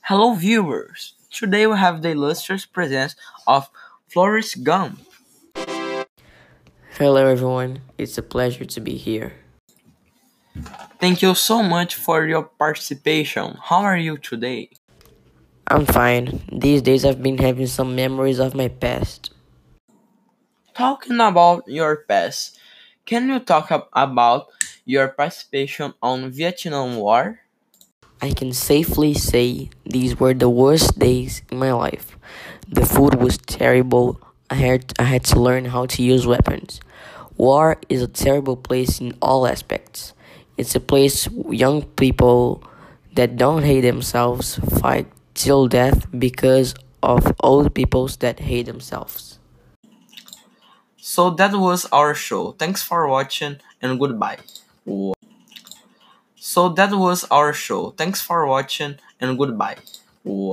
Hello, viewers! Today we have the illustrious presence of Forrest Gump. Hello, everyone. It's a pleasure to be here. Thank you so much for your participation. How are you today? I'm fine. These days I've been having some memories of my past. Talking about your past, can you talk about your participation on Vietnam War? I can safely say these were the worst days in my life. The food was terrible. I had to learn how to use weapons. War is a terrible place in all aspects. It's a place young people that don't hate themselves fight till death because of old peoples that hate themselves. So that was our show. Thanks for watching and goodbye. So that was our show. Thanks for watching and goodbye.